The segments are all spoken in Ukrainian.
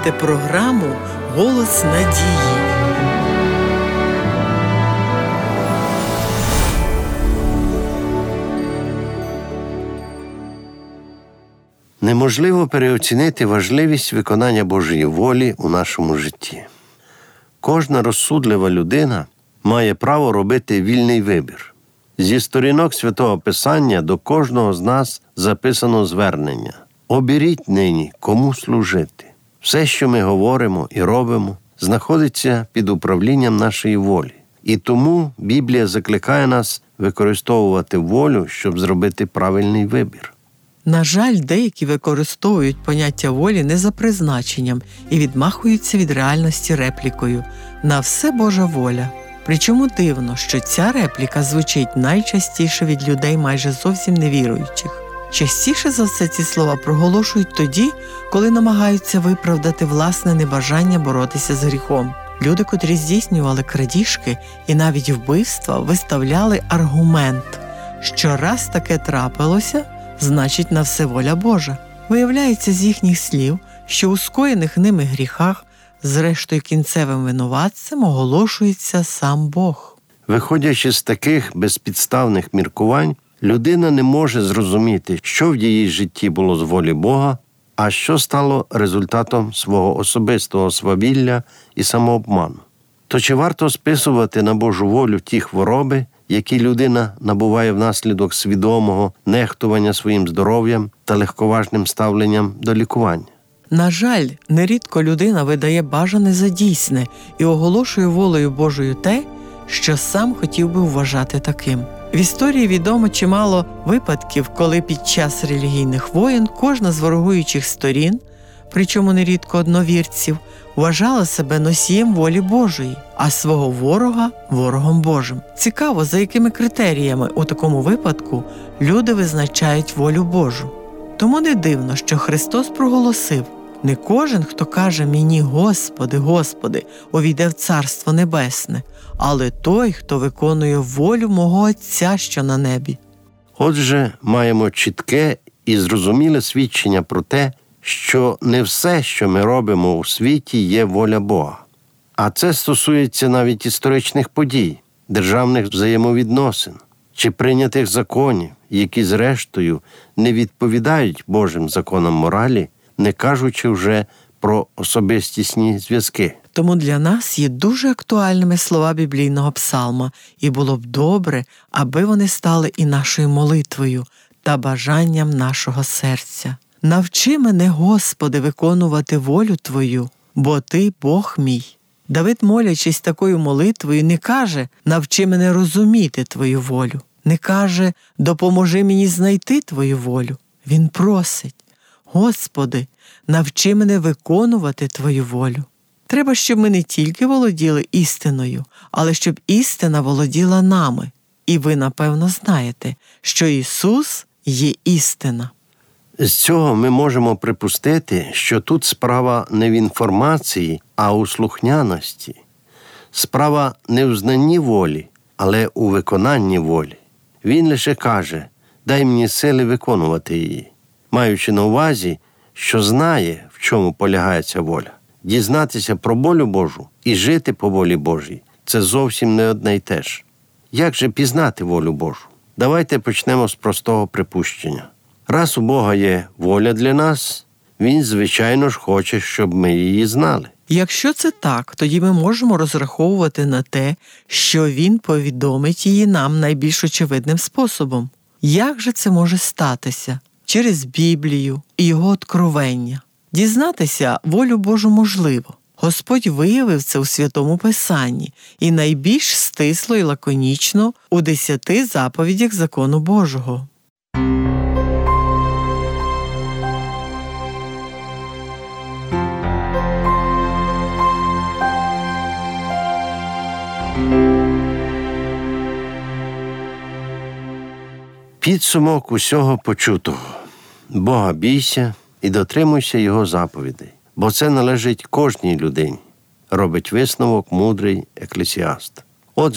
слухаєте програму «Голос надії». Неможливо переоцінити важливість виконання Божої волі у нашому житті. Кожна розсудлива людина має право робити вільний вибір. Зі сторінок Святого Писання до кожного з нас записано звернення. Оберіть нині, кому служити. Все, що ми говоримо і робимо, знаходиться під управлінням нашої волі. І тому Біблія закликає нас використовувати волю, щоб зробити правильний вибір. На жаль, деякі використовують поняття волі не за призначенням і відмахуються від реальності реплікою «на все Божа воля». Причому дивно, що ця репліка звучить найчастіше від людей майже зовсім невіруючих. Частіше за все ці слова проголошують тоді, коли намагаються виправдати власне небажання боротися з гріхом. Люди, котрі здійснювали крадіжки і навіть вбивства, виставляли аргумент, що раз таке трапилося, значить на все воля Божа. Виявляється з їхніх слів, що у скоєних ними гріхах зрештою кінцевим винуватцем оголошується сам Бог. Виходячи з таких безпідставних міркувань, людина не може зрозуміти, що в її житті було з волі Бога, а що стало результатом свого особистого свавілля і самообману. То чи варто списувати на Божу волю ті хвороби, які людина набуває внаслідок свідомого нехтування своїм здоров'ям та легковажним ставленням до лікування? На жаль, нерідко людина видає бажане за дійсне і оголошує волею Божою те, що сам хотів би вважати таким. В історії відомо чимало випадків, коли під час релігійних воєн кожна з ворогуючих сторін, причому нерідко одновірців, вважала себе носієм волі Божої, а свого ворога – ворогом Божим. Цікаво, за якими критеріями у такому випадку люди визначають волю Божу. Тому не дивно, що Христос проголосив: «Не кожен, хто каже мені «Господи, Господи», увійде в Царство Небесне, але той, хто виконує волю мого Отця, що на небі». Отже, маємо чітке і зрозуміле свідчення про те, що не все, що ми робимо у світі, є воля Бога. А це стосується навіть історичних подій, державних взаємовідносин чи прийнятих законів, які зрештою не відповідають Божим законам моралі, не кажучи вже про особистісні зв'язки. Тому для нас є дуже актуальними слова біблійного псалма, і було б добре, аби вони стали і нашою молитвою та бажанням нашого серця. «Навчи мене, Господи, виконувати волю Твою, бо Ти – Бог мій». Давид, молячись такою молитвою, не каже «навчи мене розуміти Твою волю», не каже «допоможи мені знайти Твою волю». Він просить «Господи, навчи мене виконувати Твою волю». Треба, щоб ми не тільки володіли істиною, але щоб істина володіла нами. І ви, напевно, знаєте, що Ісус є істина. З цього ми можемо припустити, що тут справа не в інформації, а у слухняності. Справа не в знанні волі, але у виконанні волі. Він лише каже «дай мені сили виконувати її», маючи на увазі, що знає, в чому полягає ця воля. Дізнатися про волю Божу і жити по волі Божій – це зовсім не одне й те ж. Як же пізнати волю Божу? Давайте почнемо з простого припущення. Раз у Бога є воля для нас, Він, звичайно ж, хоче, щоб ми її знали. Якщо це так, тоді ми можемо розраховувати на те, що Він повідомить її нам найбільш очевидним способом. Як же це може статися? Через Біблію і Його откровення. Дізнатися волю Божу можливо. Господь виявив це у Святому Писанні і найбільш стисло і лаконічно у 10 заповідях закону Божого. Підсумок усього почутого. Бога бійся і дотримуйся Його заповідей, бо це належить кожній людині, робить висновок мудрий еклесіаст. Отже,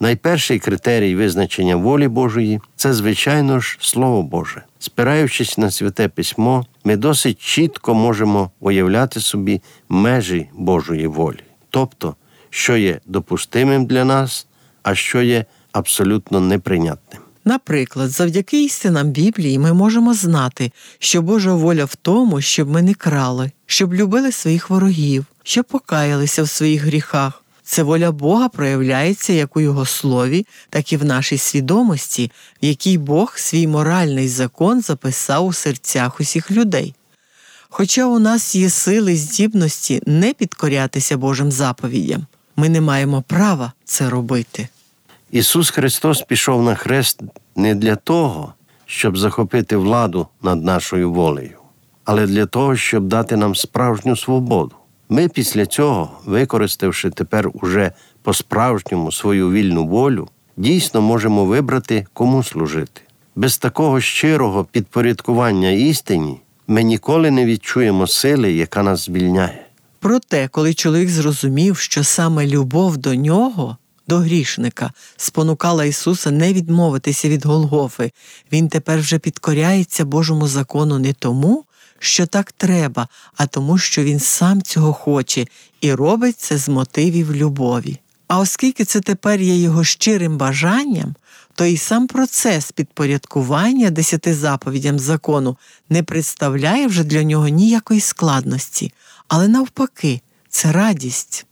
Найперший критерій визначення волі Божої – це, звичайно ж, Слово Боже. Спираючись на Святе Письмо, ми досить чітко можемо уявляти собі межі Божої волі. Тобто, що є допустимим для нас, а що є абсолютно неприйнятним. Наприклад, завдяки істинам Біблії ми можемо знати, що Божа воля в тому, щоб ми не крали, щоб любили своїх ворогів, щоб покаялися в своїх гріхах. Це воля Бога проявляється як у Його Слові, так і в нашій свідомості, в якій Бог свій моральний закон записав у серцях усіх людей. Хоча у нас є сили, здібності не підкорятися Божим заповідям, ми не маємо права це робити. Ісус Христос пішов на хрест не для того, щоб захопити владу над нашою волею, але для того, щоб дати нам справжню свободу. Ми після цього, використавши тепер уже по-справжньому свою вільну волю, дійсно можемо вибрати, кому служити. Без такого щирого підпорядкування істині ми ніколи не відчуємо сили, яка нас звільняє. Проте, коли чоловік зрозумів, що саме любов до нього, до грішника, спонукала Ісуса не відмовитися від Голгофи, він тепер вже підкоряється Божому закону не тому, що так треба, а тому, що він сам цього хоче і робить це з мотивів любові. А оскільки це тепер є його щирим бажанням, то і сам процес підпорядкування 10 заповідям закону не представляє вже для нього ніякої складності, але навпаки, це радість.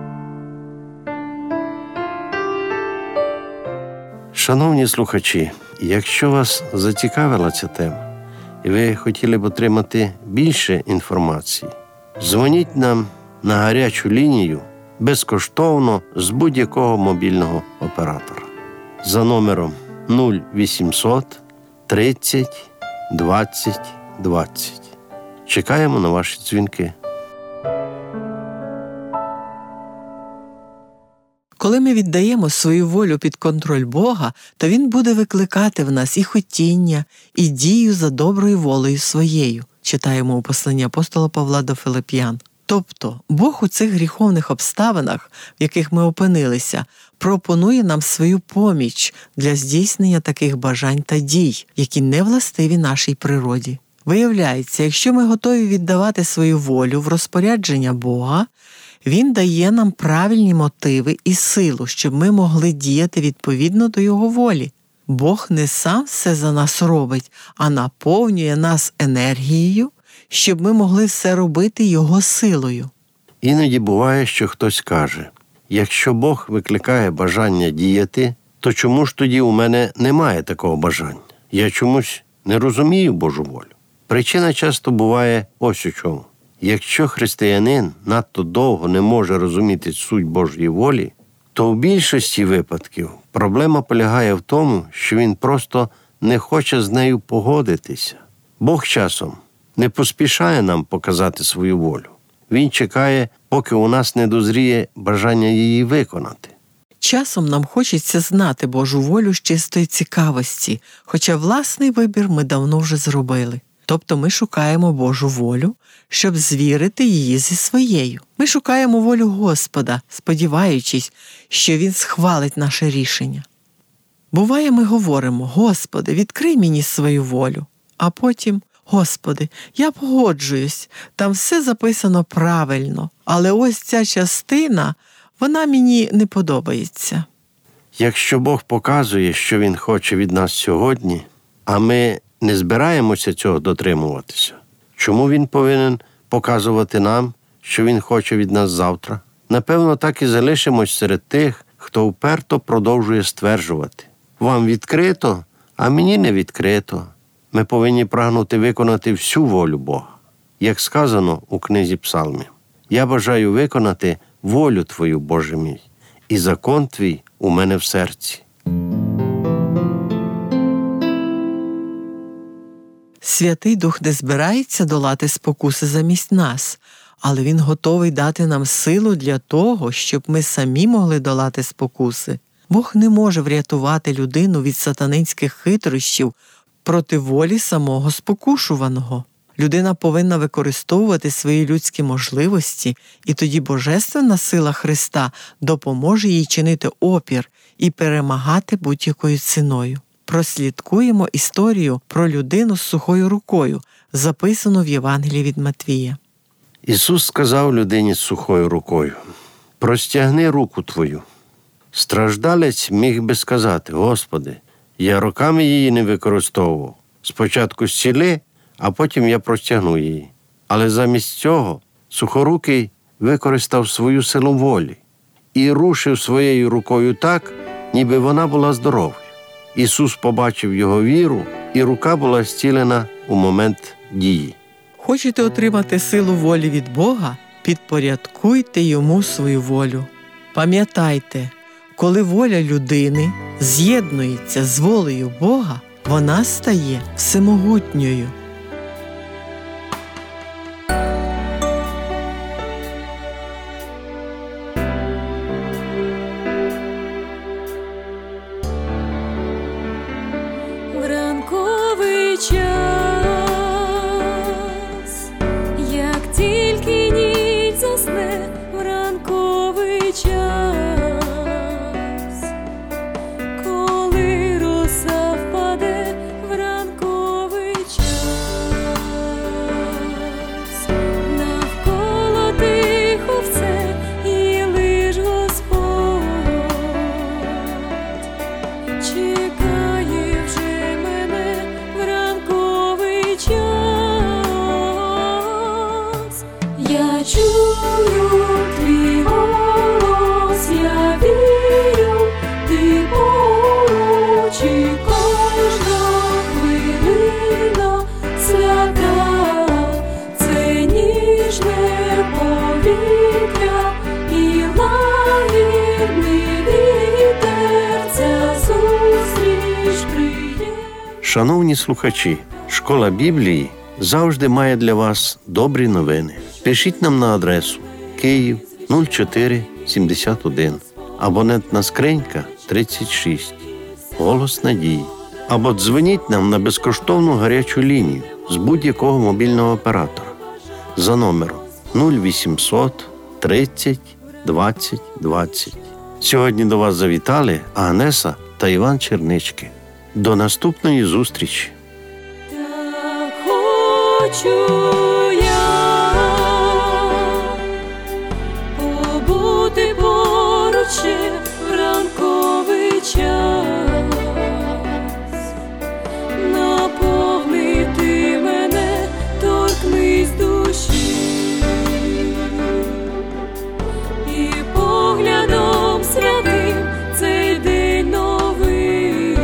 Шановні слухачі, якщо вас зацікавила ця тема, і ви хотіли б отримати більше інформації, дзвоніть нам на гарячу лінію безкоштовно з будь-якого мобільного оператора за номером 0800 30 20 20. Чекаємо на ваші дзвінки. Коли ми віддаємо свою волю під контроль Бога, то Він буде викликати в нас і хотіння, і дію за доброю волею своєю, читаємо у посланні апостола Павла до Филип'ян. Тобто, Бог у цих гріховних обставинах, в яких ми опинилися, пропонує нам свою поміч для здійснення таких бажань та дій, які не властиві нашій природі. Виявляється, якщо ми готові віддавати свою волю в розпорядження Бога, Він дає нам правильні мотиви і силу, щоб ми могли діяти відповідно до Його волі. Бог не сам все за нас робить, а наповнює нас енергією, щоб ми могли все робити Його силою. Іноді буває, що хтось каже, якщо Бог викликає бажання діяти, то чому ж тоді у мене немає такого бажання? Я чомусь не розумію Божу волю. Причина часто буває ось у чому. Якщо християнин надто довго не може розуміти суть Божої волі, то в більшості випадків проблема полягає в тому, що він просто не хоче з нею погодитися. Бог часом не поспішає нам показати свою волю. Він чекає, поки у нас не дозріє бажання її виконати. Часом нам хочеться знати Божу волю з чистої цікавості, хоча власний вибір ми давно вже зробили. Тобто ми шукаємо Божу волю, щоб звірити її зі своєю. Ми шукаємо волю Господа, сподіваючись, що Він схвалить наше рішення. Буває, ми говоримо: «Господи, відкрий мені свою волю», а потім: «Господи, я погоджуюсь, там все записано правильно, але ось ця частина, вона мені не подобається». Якщо Бог показує, що Він хоче від нас сьогодні, а ми не збираємося цього дотримуватися, чому Він повинен показувати нам, що Він хоче від нас завтра? Напевно, так і залишимось серед тих, хто вперто продовжує стверджувати: «Вам відкрито, а мені не відкрито». Ми повинні прагнути виконати всю волю Бога. Як сказано у книзі Псалмів: «Я бажаю виконати волю Твою, Боже мій, і закон Твій у мене в серці». Святий Дух не збирається долати спокуси замість нас, але Він готовий дати нам силу для того, щоб ми самі могли долати спокуси. Бог не може врятувати людину від сатанинських хитрощів проти волі самого спокушуваного. Людина повинна використовувати свої людські можливості, і тоді божественна сила Христа допоможе їй чинити опір і перемагати будь-якою ціною. Прослідкуємо історію про людину з сухою рукою, записану в Євангелії від Матвія. Ісус сказав людині з сухою рукою: «Простягни руку твою». Страждалець міг би сказати: «Господи, я роками її не використовував. Спочатку зціли, а потім я простягну її». Але замість цього сухорукий використав свою силу волі і рушив своєю рукою так, ніби вона була здоровою. Ісус побачив його віру, і рука була зцілена у момент дії. Хочете отримати силу волі від Бога? Підпорядкуйте йому свою волю. Пам'ятайте, коли воля людини з'єднується з волею Бога, вона стає всемогутньою. Вранковий час, як тільки ніч засне, вранковий час, коли роса впаде, вранковий час, навколо тихо все, і лиш Господь чекає вже мене, вранковий час. Я чую твій голос, я вірю, ти поруч, і кожна хвилина свята, це ніжне повітря і лагідний вітер, ця зустріч приємна. Шановні слухачі, Школа Біблії завжди має для вас добрі новини. Пишіть нам на адресу Київ 0471, абонентна скринька 36, Голос Надії. Або дзвоніть нам на безкоштовну гарячу лінію з будь-якого мобільного оператора за номером 0800 30 20 20. Сьогодні до вас завітали Агнеса та Іван Чернички. До наступної зустрічі! Так хочу я побути поруч ще в ранковий час, наповнити мене, торкнись душі, і поглядом святим цей день новий,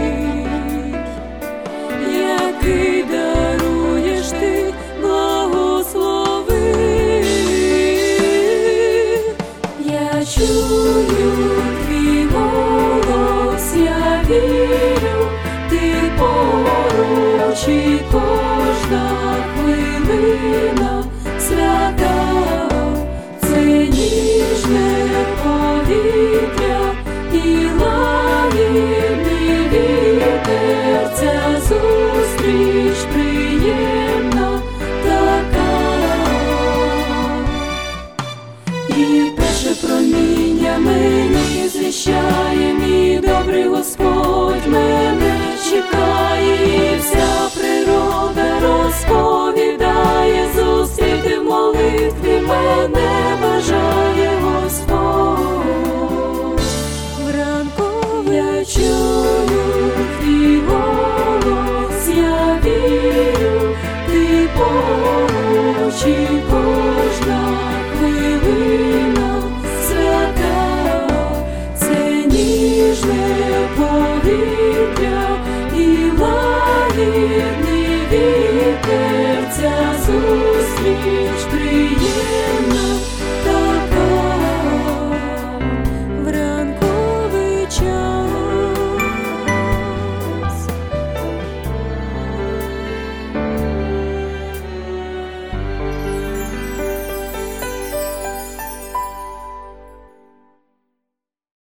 який даруєш ти, благослови. Я чую твій голос, я вірю, ти поруч, і кожна хвилина свята, це ніжне повітря і лагідний вітер, ця зустріч приємна така. І перше проміння мені звіщає, мій добрий Господь мене чекає, і вся природа розповідає, зустріти в молитві мене бажає Господь. Вранковий я чую твій голос, я вірю, ти поруч, і